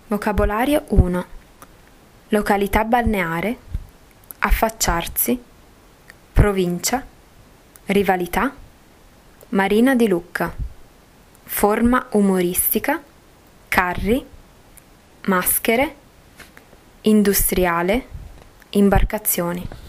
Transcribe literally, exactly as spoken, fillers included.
Vocabolario uno. Località balneare, affacciarsi, provincia, rivalità, Marina di Lucca, forma umoristica, carri, maschere, industriale, imbarcazioni.